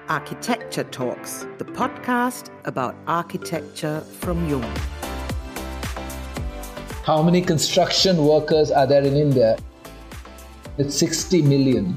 Architecture Talks, the podcast about architecture from Jung. How many construction workers are there in India? It's 60 million.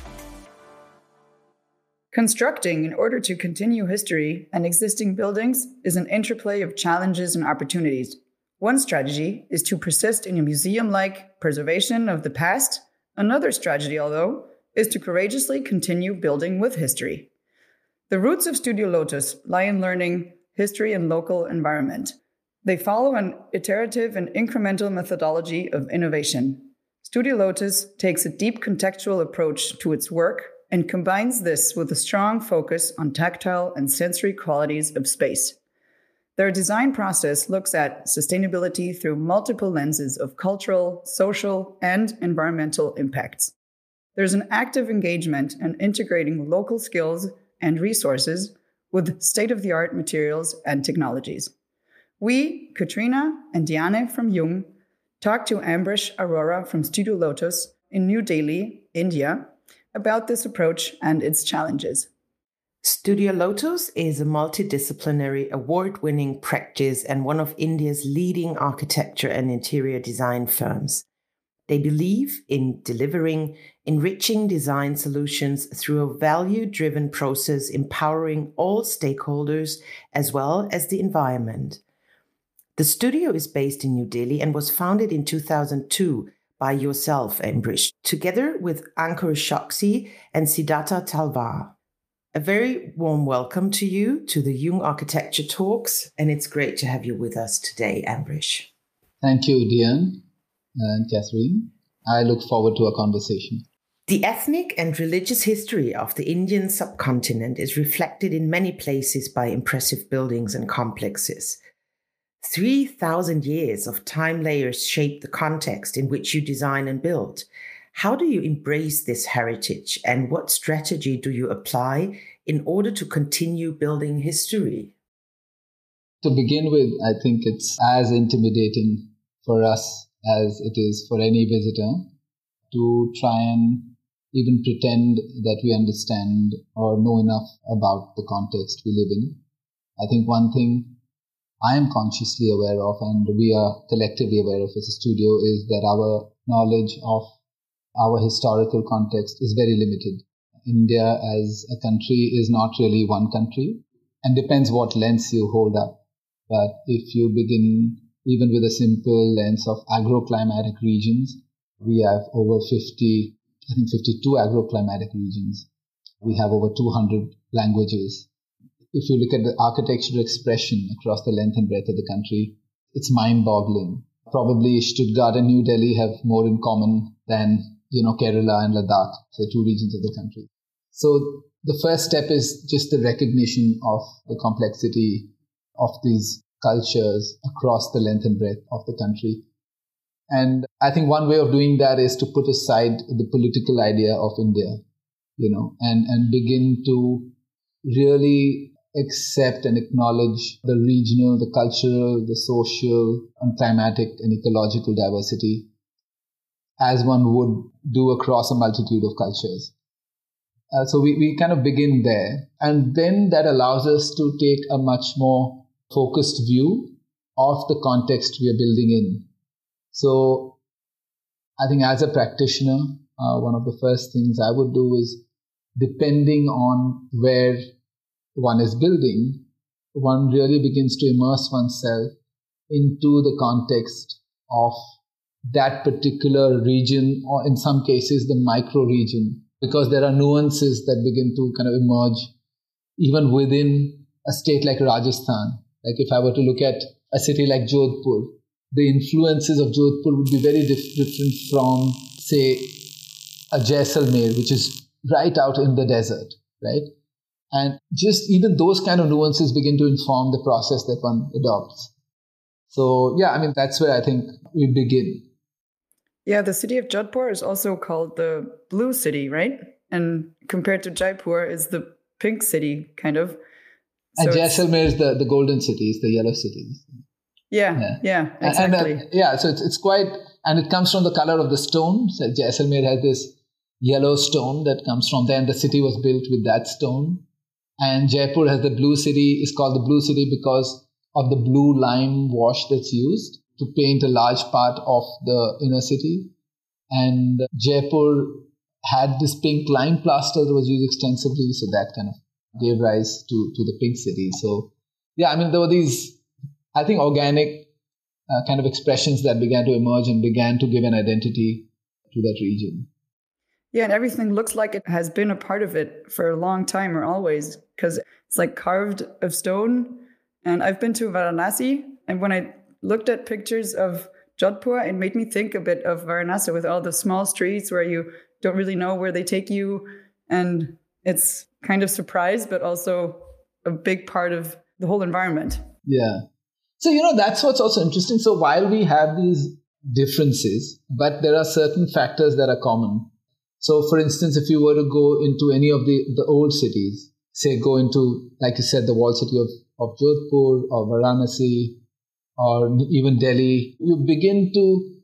Constructing in order to continue history and existing buildings is an interplay of challenges and opportunities. One strategy is to persist in a museum-like preservation of the past. Another strategy, although, is to courageously continue building with history. The roots of Studio Lotus lie in learning history and local environment. They follow an iterative and incremental methodology of innovation. Studio Lotus takes a deep contextual approach to its work and combines this with a strong focus on tactile and sensory qualities of space. Their design process looks at sustainability through multiple lenses of cultural, social, and environmental impacts. There's an active engagement in integrating local skills and resources with state-of-the-art materials and technologies. We, Katrina and Diane from Jung, talked to Ambrish Arora from Studio Lotus in New Delhi, India, about this approach and its challenges. Studio Lotus is a multidisciplinary, award-winning practice and one of India's leading architecture and interior design firms. They believe in delivering enriching design solutions through a value-driven process empowering all stakeholders as well as the environment. The studio is based in New Delhi and was founded in 2002 by yourself, Ambrish, together with Ankur Choksi and Siddhartha Talwar. A very warm welcome to you to the Jung Architecture Talks, and it's great to have you with us today, Ambrish. Thank you, Diane and Catherine. I look forward to our conversation. The ethnic and religious history of the Indian subcontinent is reflected in many places by impressive buildings and complexes. 3,000 years of time layers shape the context in which you design and build. How do you embrace this heritage, and what strategy do you apply in order to continue building history? To begin with, I think it's as intimidating for us as it is for any visitor to try and even pretend that we understand or know enough about the context we live in. I think one thing I am consciously aware of, and we are collectively aware of as a studio, is that our knowledge of our historical context is very limited. India as a country is not really one country, and depends what lens you hold up. But if you begin even with a simple lens of agroclimatic regions, we have over 52 agroclimatic regions. We have over 200 languages. If you look at the architectural expression across the length and breadth of the country, it's mind-boggling. Probably Stuttgart and New Delhi have more in common than, Kerala and Ladakh, say two regions of the country. So the first step is just the recognition of the complexity of these cultures across the length and breadth of the country. And I think one way of doing that is to put aside the political idea of India, and begin to really accept and acknowledge the regional, the cultural, the social, and climatic and ecological diversity as one would do across a multitude of cultures. So we kind of begin there. And then that allows us to take a much more focused view of the context we are building in. So I think as a practitioner, one of the first things I would do is, depending on where one is building, one really begins to immerse oneself into the context of that particular region, or in some cases the micro region, because there are nuances that begin to kind of emerge even within a state like Rajasthan. Like if I were to look at a city like Jodhpur, the influences of Jodhpur would be very different from, say, a Jaisalmer, which is right out in the desert, right? And just even those kind of nuances begin to inform the process that one adopts. So, that's where I think we begin. Yeah, the city of Jodhpur is also called the Blue City, right? And compared to Jaipur is the Pink City, kind of. And Jaisalmer is the Golden City, is the Yellow City. Yeah, exactly. So it's quite, and it comes from the color of the stone. So Jaisalmer has this yellow stone that comes from there, and the city was built with that stone. And Jaipur has the blue city, is called the blue city because of the blue lime wash that's used to paint a large part of the inner city. And Jaipur had this pink lime plaster that was used extensively, so that kind of gave rise to the pink city. So, yeah, I mean, there were these, I think, organic kind of expressions that began to emerge and began to give an identity to that region. Yeah, and everything looks like it has been a part of it for a long time or always, because it's like carved of stone. And I've been to Varanasi, and when I looked at pictures of Jodhpur, it made me think a bit of Varanasi with all the small streets where you don't really know where they take you. And it's kind of surprise, but also a big part of the whole environment. Yeah. So, that's what's also interesting. So while we have these differences, but there are certain factors that are common. So, for instance, if you were to go into any of the old cities, say go into, like you said, the walled city of Jodhpur or Varanasi or even Delhi, you begin to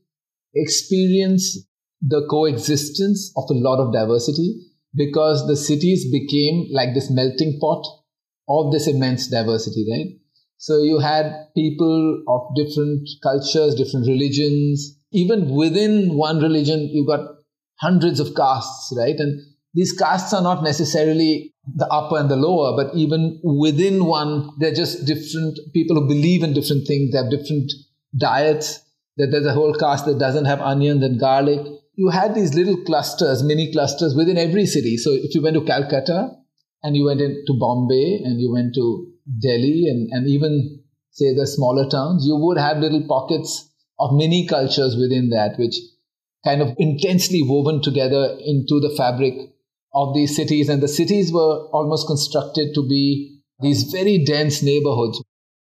experience the coexistence of a lot of diversity because the cities became like this melting pot of this immense diversity, right? So you had people of different cultures, different religions. Even within one religion, you got hundreds of castes, right? And these castes are not necessarily the upper and the lower, but even within one, they're just different people who believe in different things. They have different diets. That there's a whole caste that doesn't have onions and garlic. You had these little clusters, mini clusters within every city. So if you went to Calcutta and you went into Bombay and you went to Delhi and even, say, the smaller towns, you would have little pockets of mini cultures within that, which kind of intensely woven together into the fabric of these cities. And the cities were almost constructed to be these very dense neighborhoods.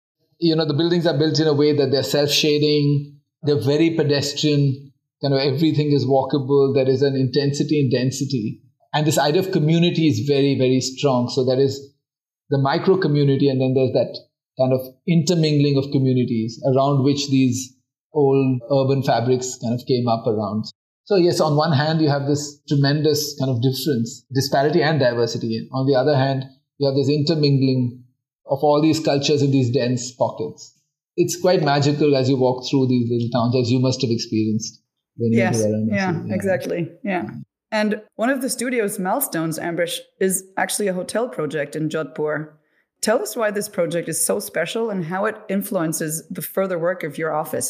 The buildings are built in a way that they're self-shading, they're very pedestrian, everything is walkable, there is an intensity and density. And this idea of community is very, very strong. So there is the micro community, and then there's that kind of intermingling of communities around which these old urban fabrics kind of came up around. So yes, on one hand, you have this tremendous kind of difference, disparity and diversity. And on the other hand, you have this intermingling of all these cultures in these dense pockets. It's quite magical as you walk through these little towns, as you must have experienced. When you were yeah, exactly. Yeah. And one of the studio's milestones, Ambrish, is actually a hotel project in Jodhpur. Tell us why this project is so special and how it influences the further work of your office.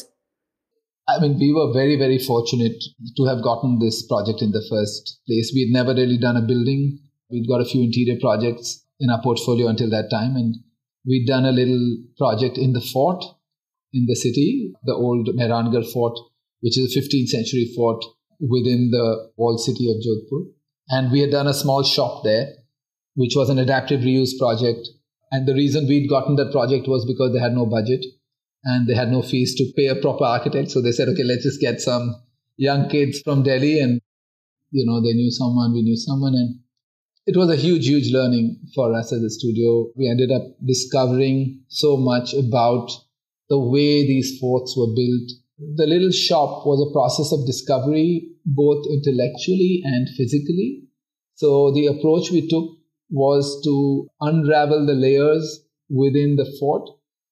I mean, we were very, very fortunate to have gotten this project in the first place. We had never really done a building. We'd got a few interior projects in our portfolio until that time. And we'd done a little project in the fort in the city, the old Mehrangarh Fort, which is a 15th century fort within the walled city of Jodhpur. And we had done a small shop there, which was an adaptive reuse project. And the reason we'd gotten that project was because they had no budget and they had no fees to pay a proper architect. So they said, okay, let's just get some young kids from Delhi. And, they knew someone, we knew someone. And it was a huge, huge learning for us as a studio. We ended up discovering so much about the way these forts were built. The little shop was a process of discovery, both intellectually and physically. So the approach we took was to unravel the layers within the fort.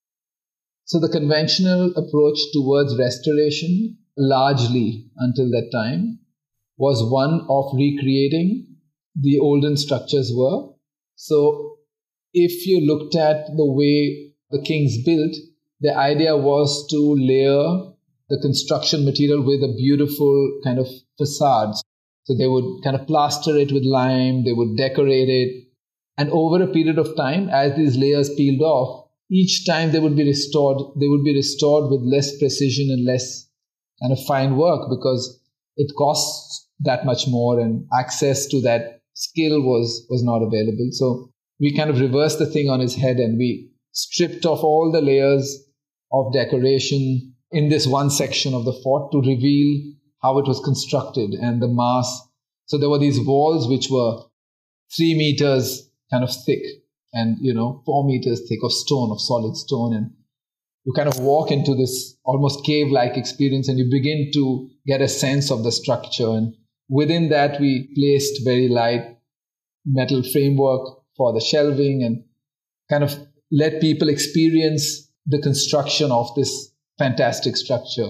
So the conventional approach towards restoration, largely until that time, was one of recreating the olden structures were. So if you looked at the way the kings built, the idea was to layer the construction material with a beautiful kind of facades. So they would kind of plaster it with lime, they would decorate it. And over a period of time, as these layers peeled off, each time they would be restored with less precision and less kind of fine work because it costs that much more and access to that skill was not available. So we kind of reversed the thing on its head and we stripped off all the layers of decoration in this one section of the fort to reveal how it was constructed and the mass. So there were these walls which were 3 meters kind of thick and, 4 meters thick of stone, of solid stone. And you kind of walk into this almost cave-like experience and you begin to get a sense of the structure. And within that, we placed very light metal framework for the shelving and kind of let people experience the construction of this fantastic structure.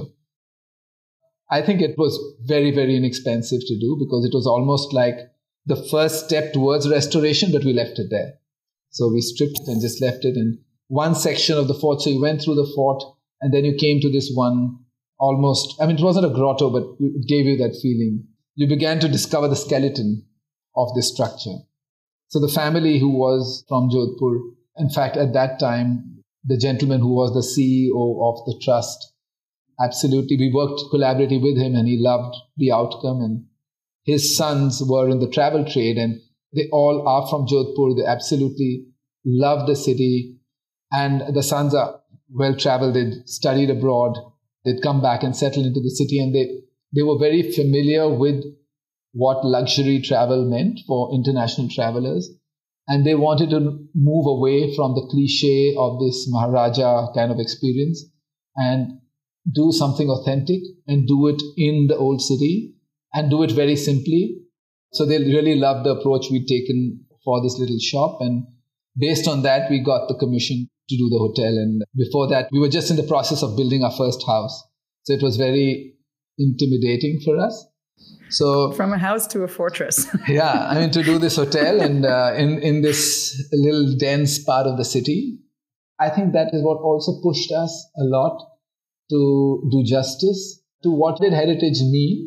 I think it was very, very inexpensive to do because it was almost like the first step towards restoration, but we left it there. So we stripped it and just left it in one section of the fort. So you went through the fort and then you came to this one almost, I mean, it wasn't a grotto, but it gave you that feeling. You began to discover the skeleton of this structure. So the family who was from Jodhpur, in fact, at that time, the gentleman who was the CEO of the trust, absolutely, we worked collaboratively with him and he loved the outcome. And his sons were in the travel trade and they all are from Jodhpur. They absolutely love the city. And the sons are well-traveled. They'd studied abroad. They'd come back and settle into the city. And they were very familiar with what luxury travel meant for international travelers. And they wanted to move away from the cliche of this Maharaja kind of experience and do something authentic and do it in the old city and do it very simply. So they really loved the approach we'd taken for this little shop. And based on that, we got the commission to do the hotel. And before that, we were just in the process of building our first house. So it was very intimidating for us. So from a house to a fortress. Yeah, I mean, to do this hotel and in this little dense part of the city, I think that is what also pushed us a lot to do justice to what did heritage mean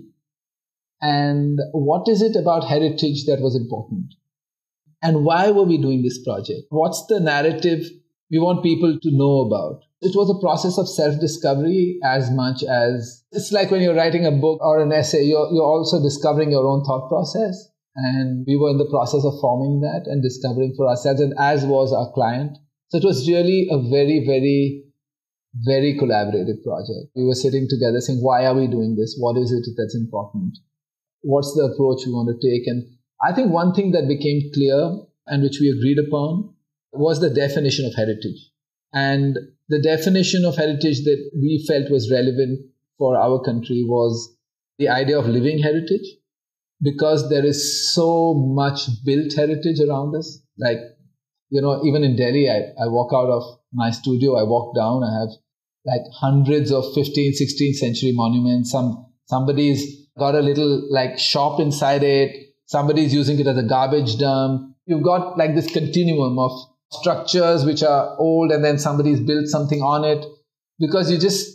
and what is it about heritage that was important and why were we doing this project? What's the narrative we want people to know about? It was a process of self-discovery as much as it's like when you're writing a book or an essay, you're also discovering your own thought process. And we were in the process of forming that and discovering for ourselves, and as was our client. So it was really a very, very, very collaborative project. We were sitting together saying, why are we doing this? What is it that's important? What's the approach we want to take? And I think one thing that became clear and which we agreed upon was the definition of heritage. And the definition of heritage that we felt was relevant for our country was the idea of living heritage, because there is so much built heritage around us. Like, you know, even in Delhi, I walk out of my studio, I walk down, I have like hundreds of 15th, 16th century monuments. Somebody's got a little like shop inside it. Somebody's using it as a garbage dump. You've got like this continuum of structures which are old and then somebody's built something on it, because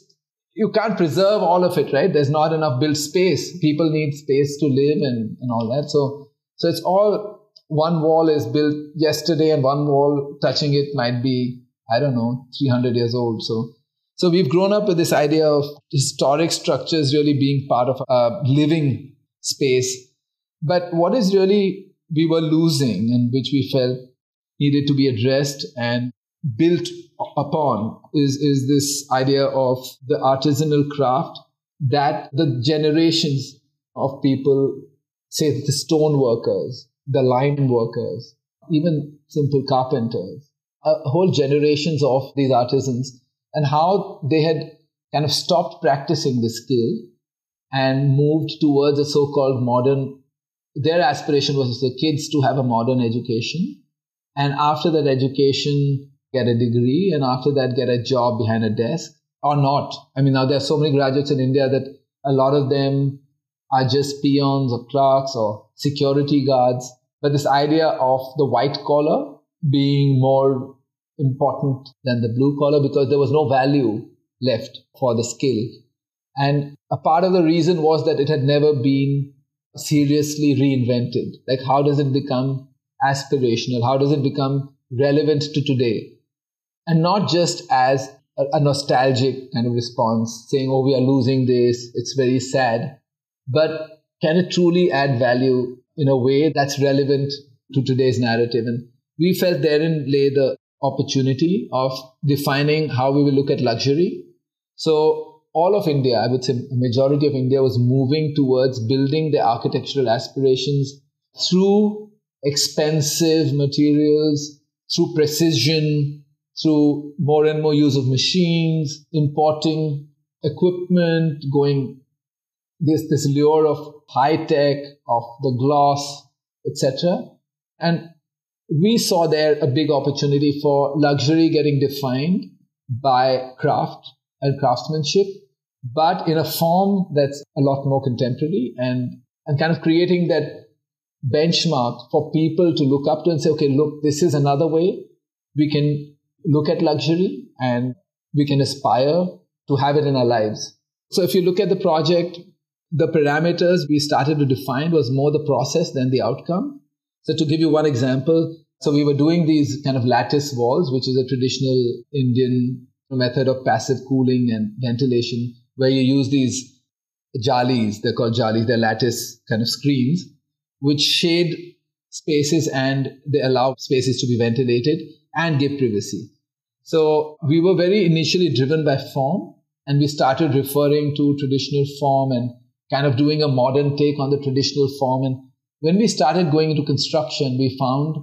you can't preserve all of it, right? There's not enough built space. People need space to live and all that. So it's all, one wall is built yesterday and one wall touching it might be, I don't know, 300 years old. So we've grown up with this idea of historic structures really being part of a living space. But what is really we were losing and which we felt needed to be addressed and built upon is this idea of the artisanal craft that the generations of people, say the stone workers, the lime workers, even simple carpenters, whole generations of these artisans, and how they had kind of stopped practicing this skill and moved towards a so-called modern. Their aspiration was for the kids to have a modern education. And after that education, get a degree, and after that, get a job behind a desk or not. I mean, now there are so many graduates in India that a lot of them are just peons or clerks or security guards. But this idea of the white collar being more important than the blue collar, because there was no value left for the skill. And a part of the reason was that it had never been seriously reinvented. Like, how does it become aspirational? How does it become relevant to today? And not just as a nostalgic kind of response, saying, oh, we are losing this, it's very sad. But can it truly add value in a way that's relevant to today's narrative? And we felt therein lay the opportunity of defining how we will look at luxury. So all of India, I would say a majority of India, was moving towards building their architectural aspirations through expensive materials, through precision, through more and more use of machines, importing equipment, going this lure of high tech, of the gloss, etc. And we saw there a big opportunity for luxury getting defined by craft and craftsmanship, but in a form that's a lot more contemporary and kind of creating that benchmark for people to look up to and say, okay, look, this is another way we can look at luxury and we can aspire to have it in our lives. So if you look at the project, the parameters we started to define was more the process than the outcome. So to give you one example, so we were doing these kind of lattice walls, which is a traditional Indian method of passive cooling and ventilation, where you use these jalis, they're called jalis, they're lattice kind of screens, which shade spaces and they allow spaces to be ventilated and give privacy. So we were very initially driven by form, and we started referring to traditional form and kind of doing a modern take on the traditional form. And when we started going into construction, we found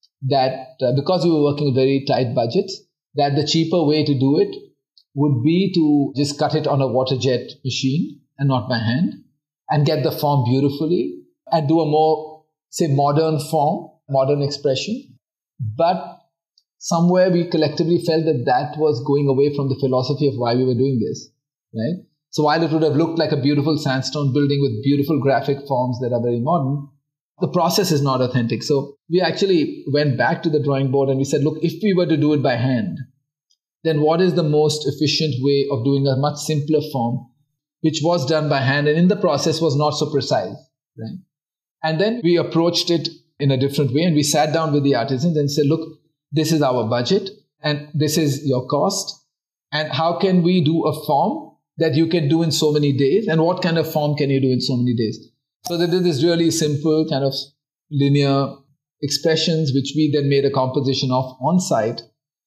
that because we were working with very tight budgets, that the cheaper way to do it would be to just cut it on a water jet machine and not by hand, and get the form beautifully and do a more, say, modern form, modern expression. But somewhere we collectively felt that that was going away from the philosophy of why we were doing this, right? So while it would have looked like a beautiful sandstone building with beautiful graphic forms that are very modern, the process is not authentic. So we actually went back to the drawing board and we said, look, if we were to do it by hand, then what is the most efficient way of doing a much simpler form, which was done by hand and in the process was not so precise, right? And then we approached it in a different way and we sat down with the artisans and said, look, this is our budget and this is your cost. And how can we do a form that you can do in so many days? And what kind of form can you do in so many days? So they did this really simple kind of linear expressions, which we then made a composition of on site.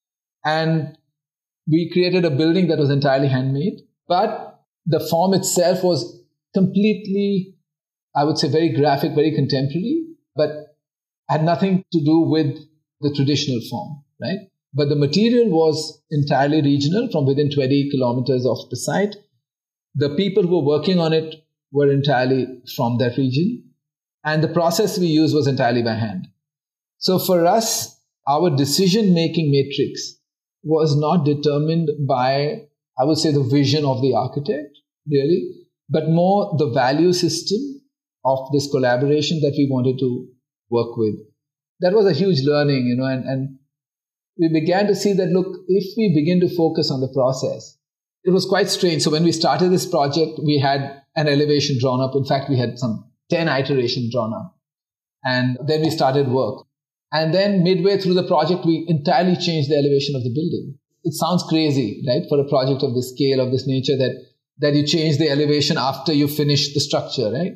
And we created a building that was entirely handmade, but the form itself was completely, I would say, very graphic, very contemporary, but had nothing to do with the traditional form, right? But the material was entirely regional from within 20 kilometers of the site. The people who were working on it were entirely from that region. And the process we used was entirely by hand. So for us, our decision-making matrix was not determined by, I would say, the vision of the architect, really, but more the value system of this collaboration that we wanted to work with. That was a huge learning, and we began to see that, look, if we begin to focus on the process, it was quite strange. So when we started this project, we had an elevation drawn up. In fact, we had some 10 iterations drawn up. And then we started work. And then midway through the project, we entirely changed the elevation of the building. It sounds crazy, right? For a project of this scale, of this nature, that you change the elevation after you finish the structure, right?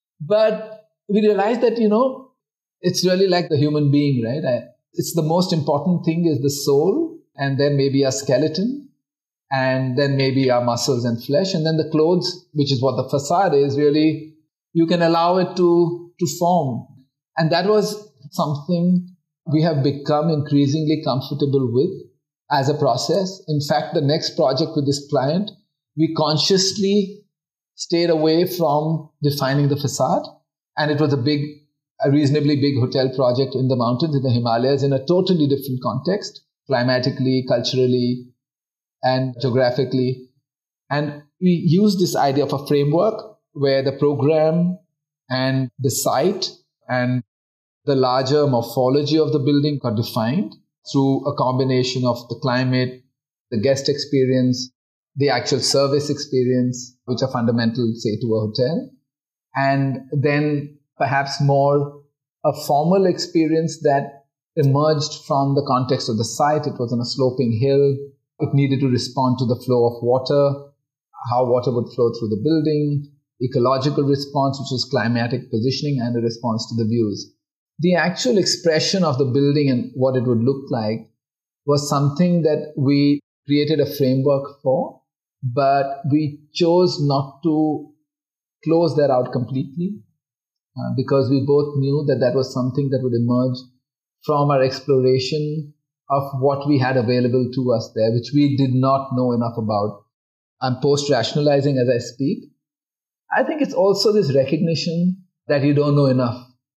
But we realized that, it's really like the human being, right? It's the most important thing is the soul, and then maybe a skeleton, and then maybe our muscles and flesh, and then the clothes, which is what the facade is, really, you can allow it to form. And that was something we have become increasingly comfortable with as a process. In fact, the next project with this client, we consciously stayed away from defining the facade. And it was a reasonably big hotel project in the mountains, in the Himalayas, in a totally different context, climatically, culturally, and geographically. And we used this idea of a framework where the program and the site and the larger morphology of the building got defined through a combination of the climate, the guest experience, the actual service experience, which are fundamental, say, to a hotel, and then perhaps more a formal experience that emerged from the context of the site. It was on a sloping hill. It needed to respond to the flow of water, how water would flow through the building, ecological response, which was climatic positioning, and a response to the views. The actual expression of the building and what it would look like was something that we created a framework for, but we chose not to close that out completely because we both knew that that was something that would emerge from our exploration of what we had available to us there, which we did not know enough about. I'm post-rationalizing as I speak. I think it's also this recognition that you don't know enough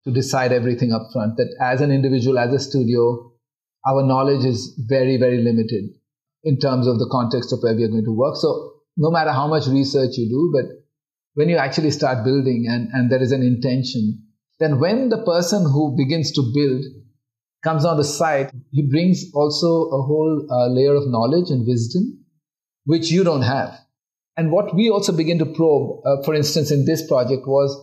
to decide everything up front. That as an individual, as a studio, our knowledge is very, very limited in terms of the context of where we are going to work. So no matter how much research you do, but when you actually start building and there is an intention, then when the person who begins to build comes on the site, he brings also a whole layer of knowledge and wisdom, which you don't have. And what we also begin to probe, for instance, in this project was,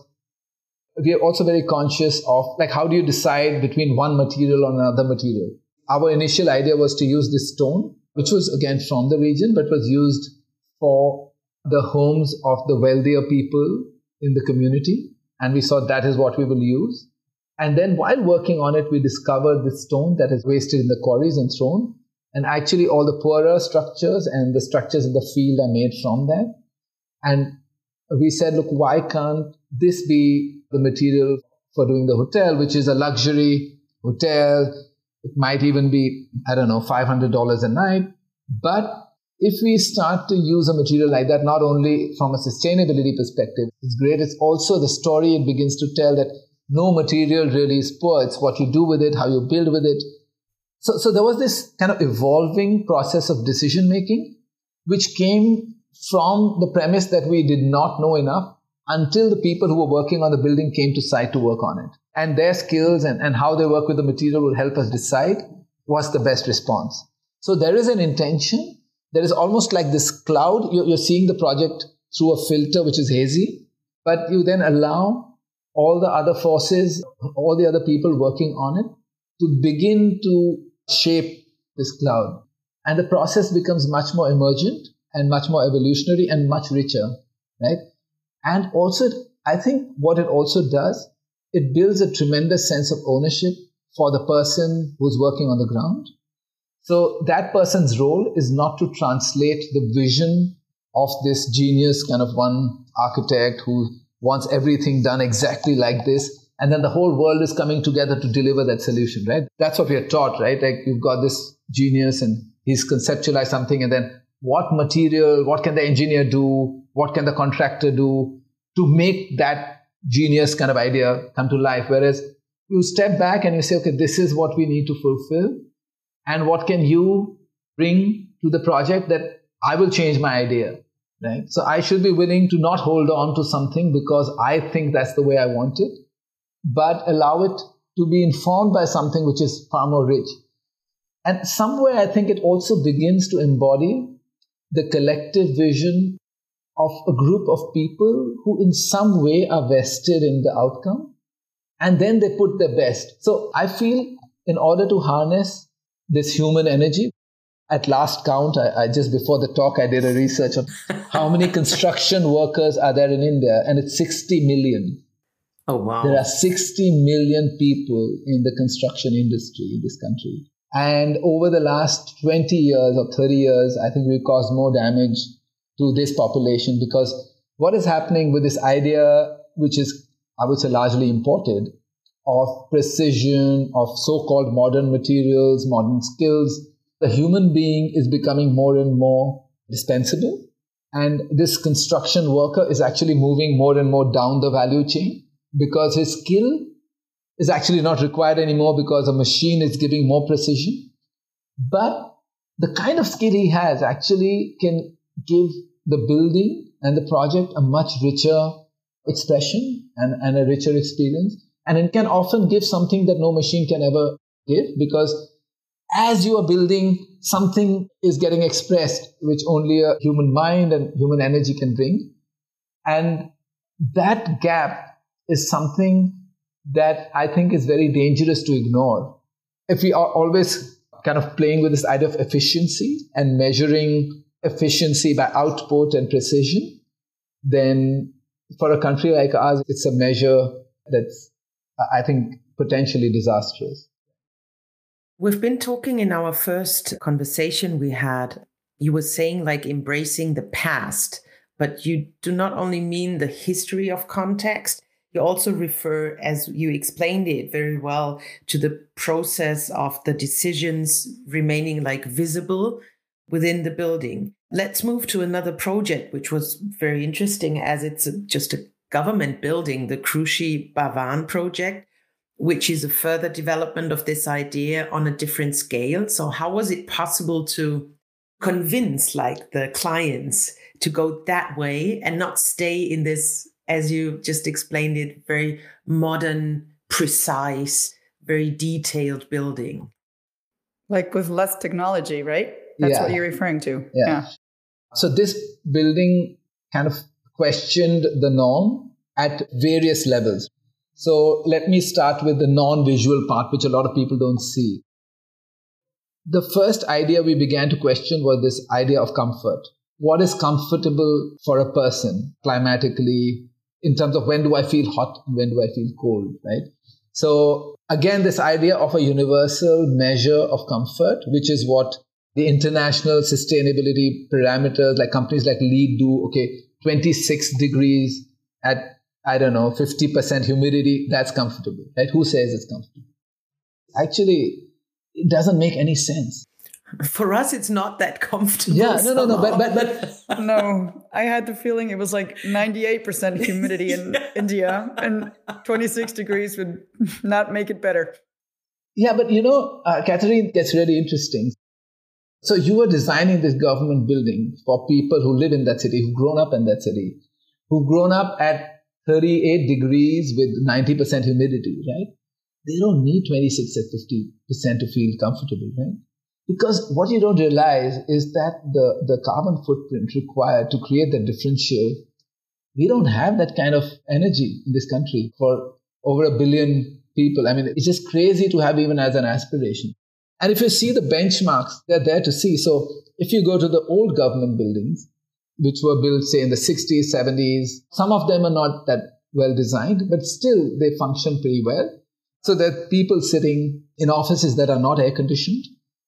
we are also very conscious of, like, how do you decide between one material or another material? Our initial idea was to use this stone, which was again from the region, but was used for the homes of the wealthier people in the community. And we thought that is what we will use. And then while working on it, we discovered this stone that is wasted in the quarries and thrown. And actually all the poorer structures and the structures in the field are made from that. And we said, look, why can't this be the material for doing the hotel, which is a luxury hotel? It might even be, $500 a night. But if we start to use a material like that, not only from a sustainability perspective, it's great. It's also the story it begins to tell that no material really is poor. It's what you do with it, how you build with it. So there was this kind of evolving process of decision making, which came from the premise that we did not know enough until the people who were working on the building came to site to work on it. And their skills and how they work with the material will help us decide what's the best response. So there is an intention. There is almost like this cloud. You're seeing the project through a filter, which is hazy, but you then allow all the other forces, all the other people working on it to begin to shape this cloud. And the process becomes much more emergent and much more evolutionary and much richer, right? And also, I think what it also does, it builds a tremendous sense of ownership for the person who's working on the ground. So that person's role is not to translate the vision of this genius kind of one architect who wants everything done exactly like this, and then the whole world is coming together to deliver that solution, right? That's what we are taught, right? Like, you've got this genius and he's conceptualized something, and then what material, what can the engineer do, what can the contractor do to make that genius kind of idea come to life? Whereas you step back and you say, okay, this is what we need to fulfill, and what can you bring to the project that I will change my idea, right? So I should be willing to not hold on to something because I think that's the way I want it, but allow it to be informed by something which is far more rich. And somewhere I think it also begins to embody the collective vision of a group of people who in some way are vested in the outcome, and then they put their best. So I feel in order to harness this human energy, at last count, I just before the talk, I did a research on how many construction workers are there in India, and it's 60 million. Oh, wow. There are 60 million people in the construction industry in this country. And over the last 20 years or 30 years, I think we've caused more damage to this population, because what is happening with this idea, which is, I would say, largely imported, of precision, of so-called modern materials, modern skills, the human being is becoming more and more dispensable. And this construction worker is actually moving more and more down the value chain, because his skill is actually not required anymore because a machine is giving more precision. But the kind of skill he has actually can give the building and the project a much richer expression and a richer experience. And it can often give something that no machine can ever give, because as you are building, something is getting expressed which only a human mind and human energy can bring. And that gap is something that I think is very dangerous to ignore. If we are always kind of playing with this idea of efficiency and measuring efficiency by output and precision, then for a country like ours, it's a measure that's, I think, potentially disastrous. We've been talking in our first conversation we had, you were saying like embracing the past, but you do not only mean the history of context, you also refer, as you explained it very well, to the process of the decisions remaining like visible within the building. Let's move to another project, which was very interesting as it's just a government building, the Krushi Bhavan project. which is a further development of this idea on a different scale. So how was it possible to convince the clients to go that way and not stay in this, as you just explained it, very modern, precise, very detailed building? Like with less technology, right? That's what you're referring to. Yeah. So this building kind of questioned the norm at various levels. So let me start with the non-visual part, which a lot of people don't see. The first idea we began to question was this idea of comfort. What is comfortable for a person climatically in terms of when do I feel hot and when do I feel cold, right? So again, this idea of a universal measure of comfort, which is what the international sustainability parameters like companies like LEED do. Okay, 26 degrees at, 50% humidity, that's comfortable, right? Who says it's comfortable? Actually, it doesn't make any sense. For us, it's not that comfortable. Yeah, no. But no, I had the feeling it was like 98% humidity in India, and 26 degrees would not make it better. Yeah, but Catherine, that's really interesting. So you were designing this government building for people who live in that city, who've grown up in that city, who've grown up at 38 degrees with 90% humidity, right? They don't need 26 at 50% to feel comfortable, right? Because what you don't realize is that the carbon footprint required to create that differential, we don't have that kind of energy in this country for over 1 billion people. I mean, it's just crazy to have even as an aspiration. And if you see the benchmarks, they're there to see. So if you go to the old government buildings, which were built, say, in the 60s, 70s, some of them are not that well designed, but still they function pretty well. So there are people sitting in offices that are not air conditioned,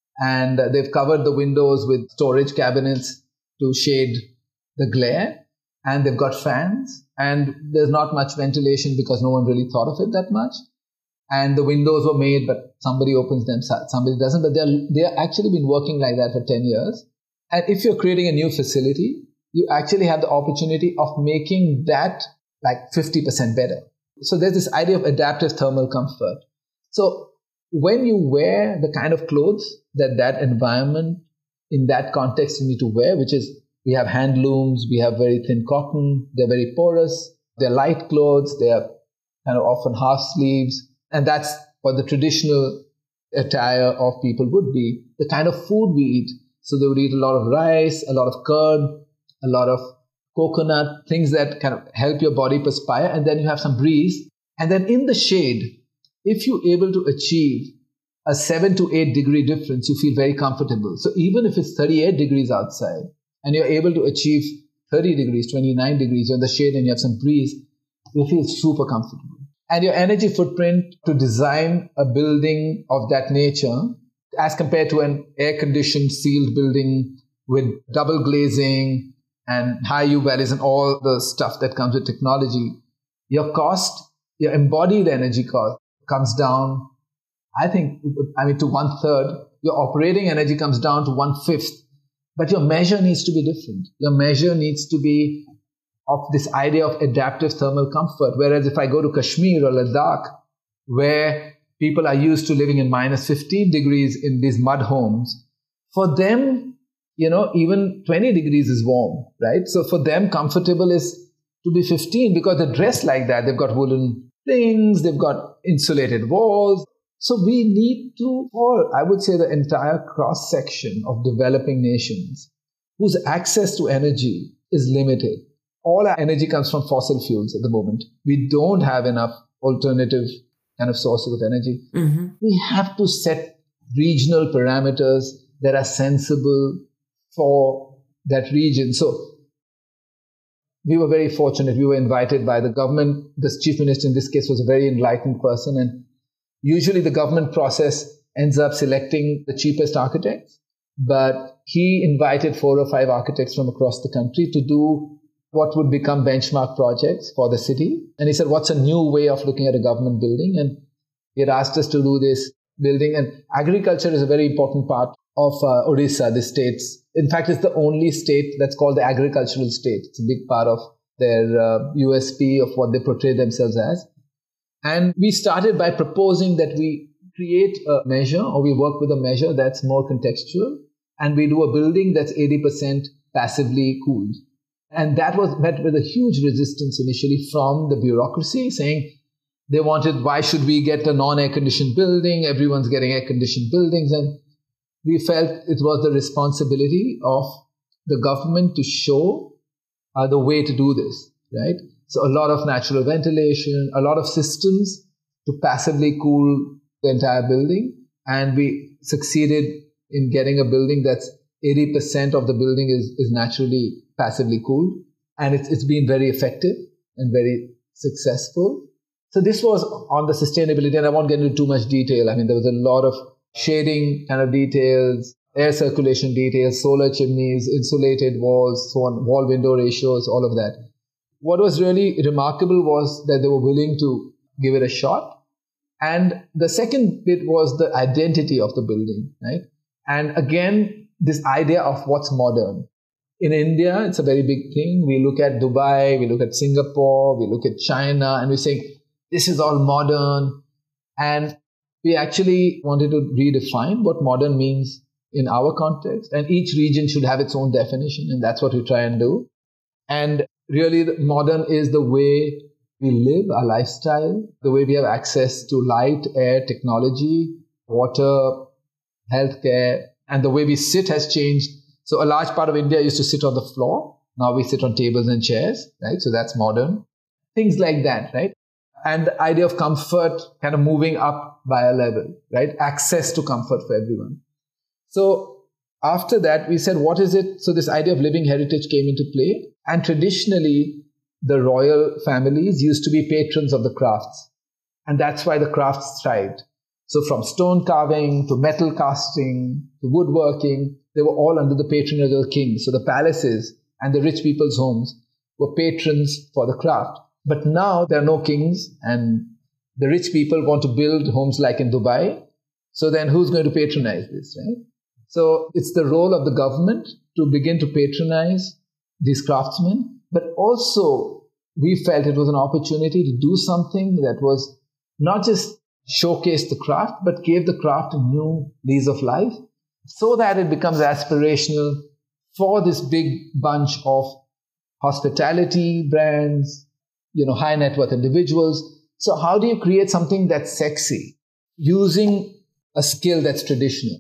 and they've covered the windows with storage cabinets to shade the glare, and they've got fans, and there's not much ventilation because no one really thought of it that much. And the windows were made, but somebody opens them, somebody doesn't. But they're actually been working like that for 10 years. And if you're creating a new facility, you actually have the opportunity of making that like 50% better. So there's this idea of adaptive thermal comfort. So when you wear the kind of clothes that environment in that context you need to wear, which is we have hand looms, we have very thin cotton, they're very porous, they're light clothes, they're kind of often half sleeves. And that's what the traditional attire of people would be, the kind of food we eat. So they would eat a lot of rice, a lot of curd, a lot of coconut, things that kind of help your body perspire. And then you have some breeze. And then in the shade, if you're able to achieve a 7 to 8 degree difference, you feel very comfortable. So even if it's 38 degrees outside and you're able to achieve 30 degrees, 29 degrees, you're in the shade and you have some breeze, you feel super comfortable. And your energy footprint to design a building of that nature, as compared to an air-conditioned sealed building with double glazing and high U values and all the stuff that comes with technology, your cost, your embodied energy cost comes down, to 1/3. Your operating energy comes down to 1/5. But your measure needs to be different. Your measure needs to be of this idea of adaptive thermal comfort. Whereas if I go to Kashmir or Ladakh, where people are used to living in minus 15 degrees in these mud homes, for them, even 20 degrees is warm, right? So for them, comfortable is to be 15 because they're dressed like that. They've got woolen things, they've got insulated walls. So we need to, or I would say the entire cross-section of developing nations whose access to energy is limited. All our energy comes from fossil fuels at the moment. We don't have enough alternative kind of sources of energy. Mm-hmm. We have to set regional parameters that are sensible for that region. So we were very fortunate. We were invited by the government. The chief minister in this case was a very enlightened person. And usually the government process ends up selecting the cheapest architects. But he invited 4 or 5 architects from across the country to do what would become benchmark projects for the city. And he said, what's a new way of looking at a government building? And he had asked us to do this building. And agriculture is a very important part of Odisha, the states. In fact, it's the only state that's called the agricultural state. It's a big part of their USP of what they portray themselves as. And we started by proposing that we create a measure, or we work with a measure that's more contextual, and we do a building that's 80% passively cooled. And that was met with a huge resistance initially from the bureaucracy, saying they wanted, why should we get a non-air conditioned building? Everyone's getting air conditioned buildings. And we felt it was the responsibility of the government to show the way to do this, right? So a lot of natural ventilation, a lot of systems to passively cool the entire building. And we succeeded in getting a building that's 80% of the building is naturally passively cooled. And it's been very effective and very successful. So this was on the sustainability, and I won't get into too much detail. I mean, there was a lot of shading kind of details, air circulation details, solar chimneys, insulated walls, so on, wall window ratios, all of that. What was really remarkable was that they were willing to give it a shot. And the second bit was the identity of the building, right? And again, this idea of what's modern. In India, it's a very big thing. We look at Dubai, we look at Singapore, we look at China, and we say, this is all modern. And we actually wanted to redefine what modern means in our context. And each region should have its own definition. And that's what we try and do. And really, modern is the way we live, our lifestyle, the way we have access to light, air, technology, water, healthcare, and the way we sit has changed. So a large part of India used to sit on the floor. Now we sit on tables and chairs, right? So that's modern. Things like that, right? And the idea of comfort kind of moving up by a level, right? Access to comfort for everyone. So after that, we said, what is it? So this idea of living heritage came into play. And traditionally, the royal families used to be patrons of the crafts. And that's why the crafts thrived. So from stone carving to metal casting to woodworking, they were all under the patronage of the king. So the palaces and the rich people's homes were patrons for the craft. But now there are no kings, and the rich people want to build homes like in Dubai. So then who's going to patronize this, right? So it's the role of the government to begin to patronize these craftsmen. But also we felt it was an opportunity to do something that was not just showcase the craft, but gave the craft a new lease of life so that it becomes aspirational for this big bunch of hospitality brands, high net worth individuals. So how do you create something that's sexy using a skill that's traditional?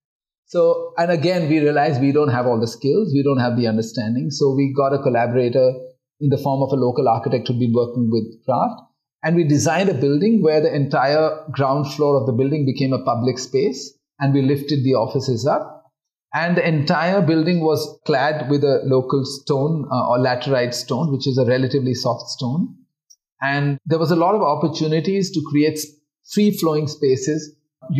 So, and again, we realized we don't have all the skills. We don't have the understanding. So we got a collaborator in the form of a local architect who'd been working with craft. And we designed a building where the entire ground floor of the building became a public space. And we lifted the offices up. And the entire building was clad with a local stone or laterite stone, which is a relatively soft stone. And there was a lot of opportunities to create free-flowing spaces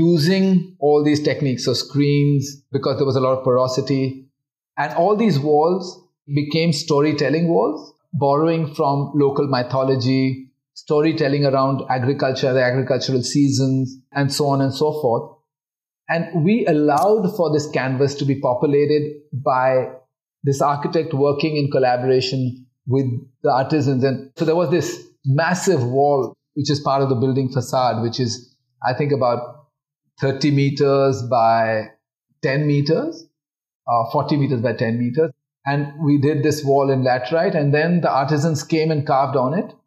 using all these techniques. So screens, because there was a lot of porosity. And all these walls became storytelling walls, borrowing from local mythology, storytelling around agriculture, the agricultural seasons, and so on and so forth. And we allowed for this canvas to be populated by this architect working in collaboration with the artisans. And so there was this massive wall, which is part of the building facade, which is, I think, about 30 meters by 10 meters, 40 meters by 10 meters. And we did this wall in laterite, and then the artisans came and carved on it.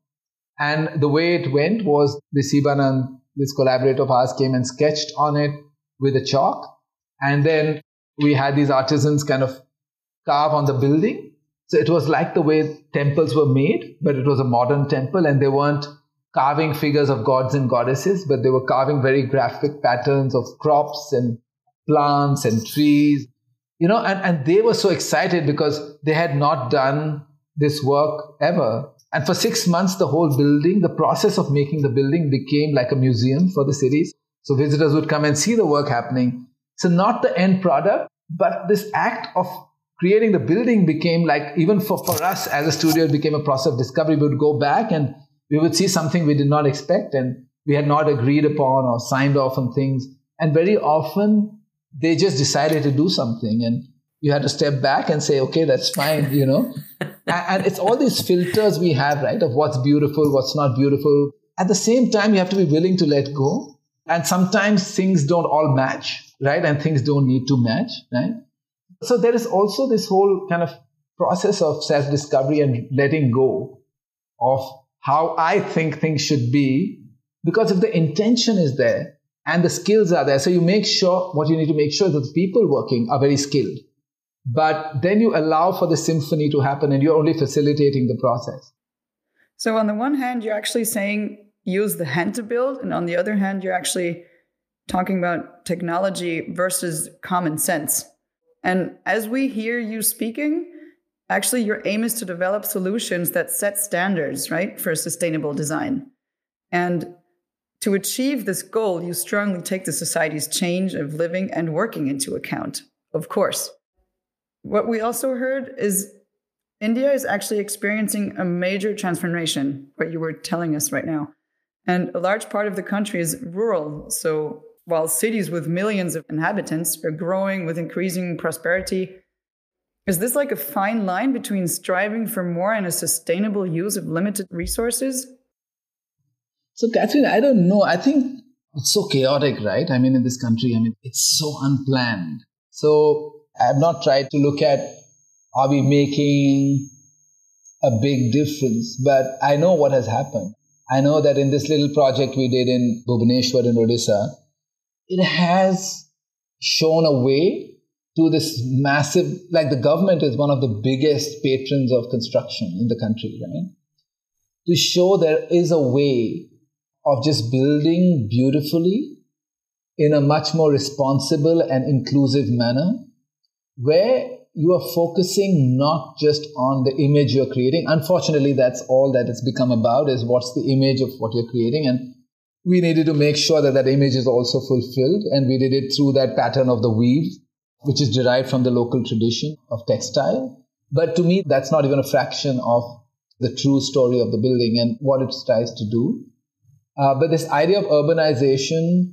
And the way it went was the Sibanand, this collaborator of ours, came and sketched on it with a chalk. And then we had these artisans kind of carve on the building. So it was like the way temples were made, but it was a modern temple, and they weren't carving figures of gods and goddesses, but they were carving very graphic patterns of crops and plants and trees, and they were so excited because they had not done this work ever. And for 6 months, the whole building, the process of making the building became like a museum for the cities. So visitors would come and see the work happening. So not the end product, but this act of creating the building became like, even for us as a studio, it became a process of discovery. We would go back and we would see something we did not expect and we had not agreed upon or signed off on things. And very often they just decided to do something and you had to step back and say, okay, that's fine, And it's all these filters we have, right, of what's beautiful, what's not beautiful. At the same time, you have to be willing to let go. And sometimes things don't all match, right? And things don't need to match, right? So there is also this whole kind of process of self-discovery and letting go of how I think things should be, because if the intention is there and the skills are there, so you make sure, what you need to make sure that the people working are very skilled. But then you allow for the symphony to happen and you're only facilitating the process. So on the one hand, you're actually saying use the hand to build. And on the other hand, you're actually talking about technology versus common sense. And as we hear you speaking, actually your aim is to develop solutions that set standards, right, for sustainable design. And to achieve this goal, you strongly take the society's change of living and working into account, of course. What we also heard is India is actually experiencing a major transformation, what you were telling us right now. And a large part of the country is rural. So while cities with millions of inhabitants are growing with increasing prosperity, is this like a fine line between striving for more and a sustainable use of limited resources? So, Catherine, I don't know. I think it's so chaotic, right? I mean, in this country, it's so unplanned. So I have not tried to look at, are we making a big difference? But I know what has happened. I know that in this little project we did in Bhubaneswar in Odisha, it has shown a way to this massive, like the government is one of the biggest patrons of construction in the country, right? To show there is a way of just building beautifully in a much more responsible and inclusive manner, where you are focusing not just on the image you're creating. Unfortunately, that's all that it's become about, is what's the image of what you're creating. And we needed to make sure that that image is also fulfilled. And we did it through that pattern of the weave, which is derived from the local tradition of textile. But to me, that's not even a fraction of the true story of the building and what it tries to do. But this idea of urbanization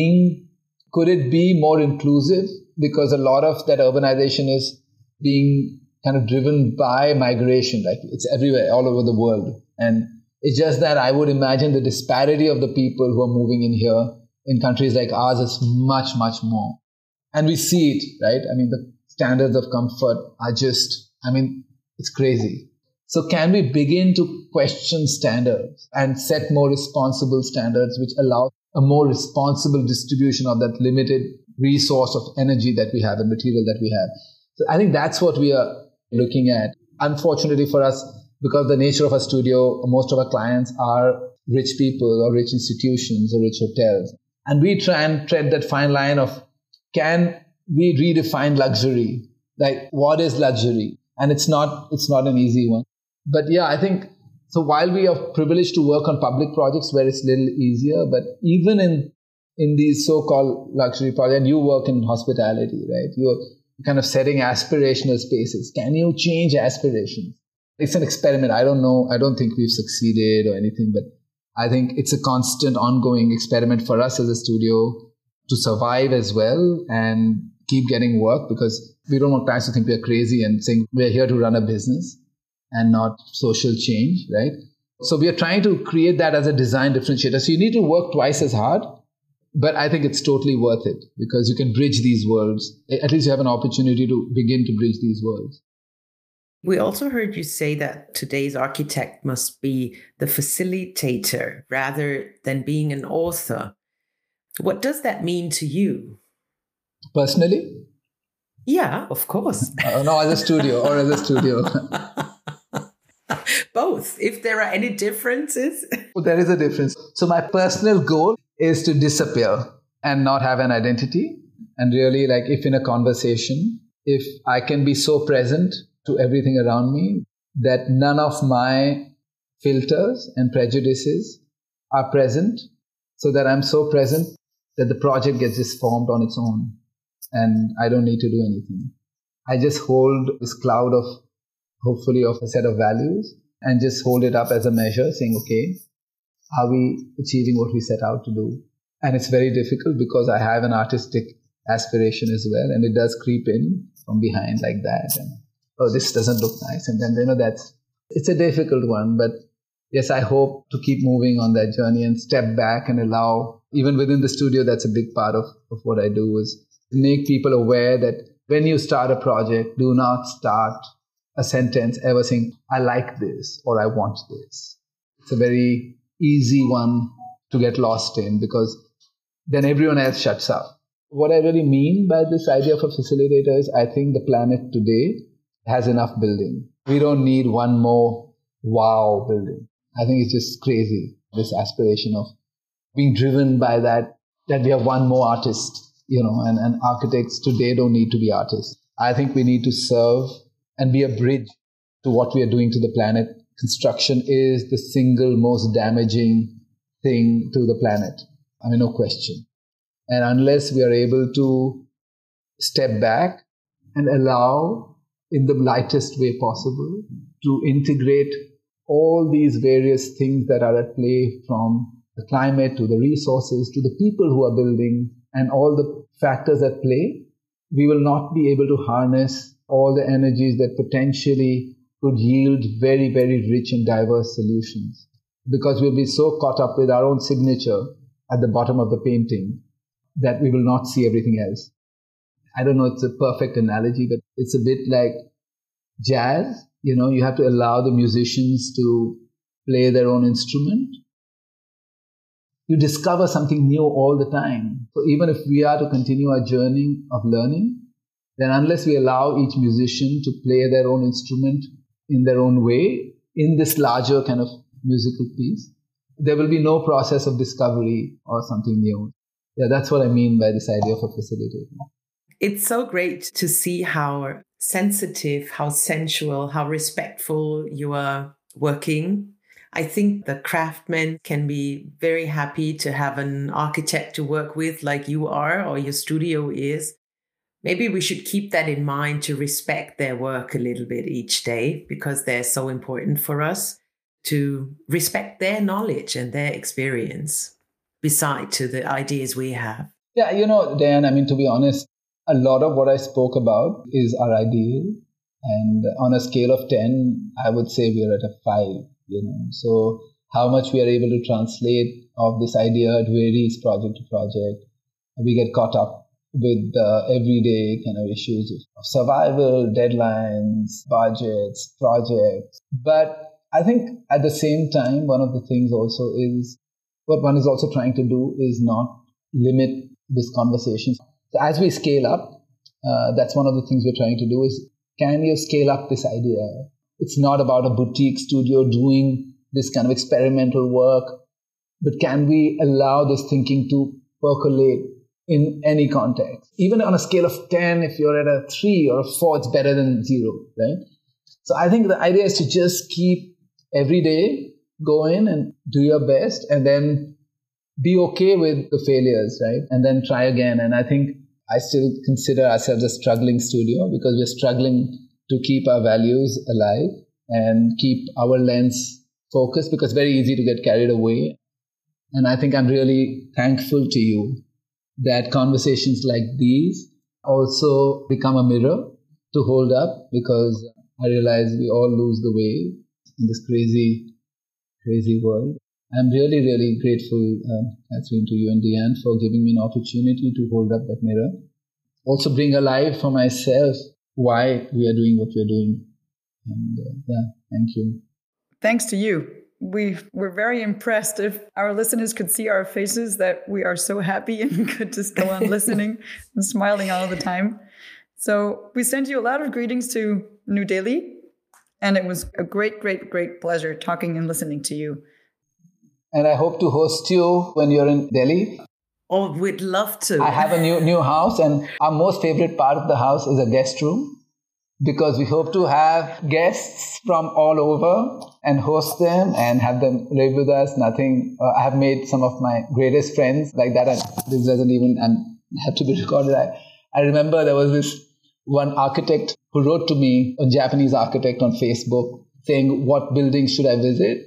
could it be more inclusive? Because a lot of that urbanization is being kind of driven by migration, like it's everywhere, all over the world. And it's just that I would imagine the disparity of the people who are moving in here in countries like ours is much, much more. And we see it, right? The standards of comfort are just, it's crazy. So can we begin to question standards and set more responsible standards which allow a more responsible distribution of that limited resource of energy that we have and material that we have? So I think that's what we are looking at. Unfortunately for us, because the nature of our studio, most of our clients are rich people or rich institutions or rich hotels. And we try and tread that fine line of, can we redefine luxury? Like, what is luxury? And it's not an easy one. But yeah, I think, so while we are privileged to work on public projects where it's a little easier, but even in these so-called luxury projects, and you work in hospitality, right? You're kind of setting aspirational spaces. Can you change aspirations? It's an experiment. I don't know. I don't think we've succeeded or anything, but I think it's a constant ongoing experiment for us as a studio to survive as well and keep getting work, because we don't want clients to think we're crazy and saying we're here to run a business and not social change, right? So we are trying to create that as a design differentiator. So you need to work twice as hard, but I think it's totally worth it because you can bridge these worlds. At least you have an opportunity to begin to bridge these worlds. We also heard you say that today's architect must be the facilitator rather than being an author. What does that mean to you? Personally? Yeah, of course. No, as a studio or as a studio. Both, if there are any differences. There is a difference. So my personal goal is to disappear and not have an identity. And really, like if in a conversation, if I can be so present to everything around me that none of my filters and prejudices are present, so that I'm so present that the project gets just formed on its own and I don't need to do anything. I just hold this cloud of, hopefully, of a set of values and just hold it up as a measure, saying, okay, are we achieving what we set out to do? And it's very difficult because I have an artistic aspiration as well, and it does creep in from behind like that. And, oh, this doesn't look nice. And then, it's a difficult one, but yes, I hope to keep moving on that journey and step back and allow, even within the studio, that's a big part of what I do, is make people aware that when you start a project, do not start a sentence ever saying, I like this or I want this. It's a very easy one to get lost in, because then everyone else shuts up. What I really mean by this idea of a facilitator is I think the planet today has enough building. We don't need one more wow building. I think it's just crazy, this aspiration of being driven by that we have one more artist, and architects today don't need to be artists. I think we need to serve and be a bridge to what we are doing to the planet. Construction is the single most damaging thing to the planet. I mean, no question. And unless we are able to step back and allow, in the lightest way possible, to integrate all these various things that are at play, from the climate to the resources to the people who are building and all the factors at play, we will not be able to harness all the energies that potentially could yield very, very rich and diverse solutions. Because we'll be so caught up with our own signature at the bottom of the painting that we will not see everything else. I don't know, it's a perfect analogy, but it's a bit like jazz. You have to allow the musicians to play their own instrument. You discover something new all the time. So even if we are to continue our journey of learning, then unless we allow each musician to play their own instrument in their own way, in this larger kind of musical piece, there will be no process of discovery or something new. Yeah, that's what I mean by this idea of a facilitator. It's so great to see how sensitive, how sensual, how respectful you are working. I think the craftsmen can be very happy to have an architect to work with like you are, or your studio is. Maybe we should keep that in mind, to respect their work a little bit each day, because they're so important for us, to respect their knowledge and their experience beside to the ideas we have. Yeah, Diane, I mean, to be honest, a lot of what I spoke about is our ideal. And on a scale of 10, I would say we are at a 5, So how much we are able to translate of this idea, it varies project to project. We get caught up with the everyday kind of issues of survival, deadlines, budgets, projects. But I think at the same time, one of the things also is, what one is also trying to do is not limit this conversation. So as we scale up, that's one of the things we're trying to do is, can you scale up this idea? It's not about a boutique studio doing this kind of experimental work, but can we allow this thinking to percolate in any context? Even on a scale of 10, if you're at a 3 or a 4, it's better than 0, right? So I think the idea is to just keep every day, go in and do your best, and then be okay with the failures, right? And then try again. And I think I still consider ourselves a struggling studio, because we're struggling to keep our values alive and keep our lens focused, because it's very easy to get carried away. And I think I'm really thankful to you that conversations like these also become a mirror to hold up, because I realize we all lose the way in this crazy, crazy world. I'm really, really grateful, Catherine, to you and Diane for giving me an opportunity to hold up that mirror. Also bring alive for myself why we are doing what we're doing. And thank you. Thanks to you. We're very impressed. If our listeners could see our faces, that we are so happy and could just go on listening and smiling all the time. So we send you a lot of greetings to New Delhi. And it was a great, great, great pleasure talking and listening to you. And I hope to host you when you're in Delhi. Oh, we'd love to. I have a new house, and our most favorite part of the house is a guest room, because we hope to have guests from all over and host them and have them live with us. I have made some of my greatest friends like that. And this doesn't even have to be recorded. I remember there was this one architect who wrote to me, a Japanese architect on Facebook, saying, what buildings should I visit?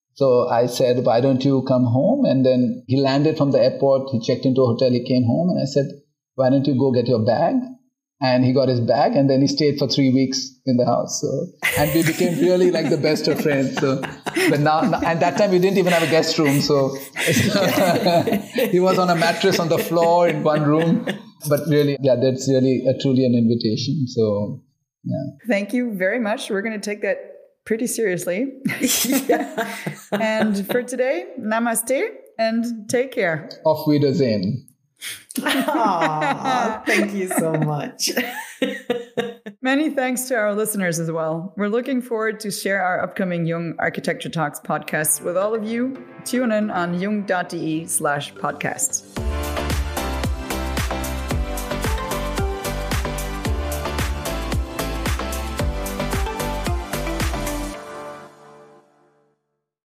So I said, why don't you come home? And then he landed from the airport. He checked into a hotel. He came home. And I said, why don't you go get your bag And he got his bag, and then he stayed for 3 weeks in the house. So, and we became really like the best of friends. So, but now, and that time we didn't even have a guest room. So he was on a mattress on the floor in one room. But really, yeah, that's really truly an invitation. So, yeah. Thank you very much. We're going to take that pretty seriously. And for today, namaste and take care. Auf Wiedersehen. Aww, thank you so much. Many thanks to our listeners as well. We're looking forward to share our upcoming Jung Architecture Talks podcasts with all of you. Tune in on jung.de/podcasts.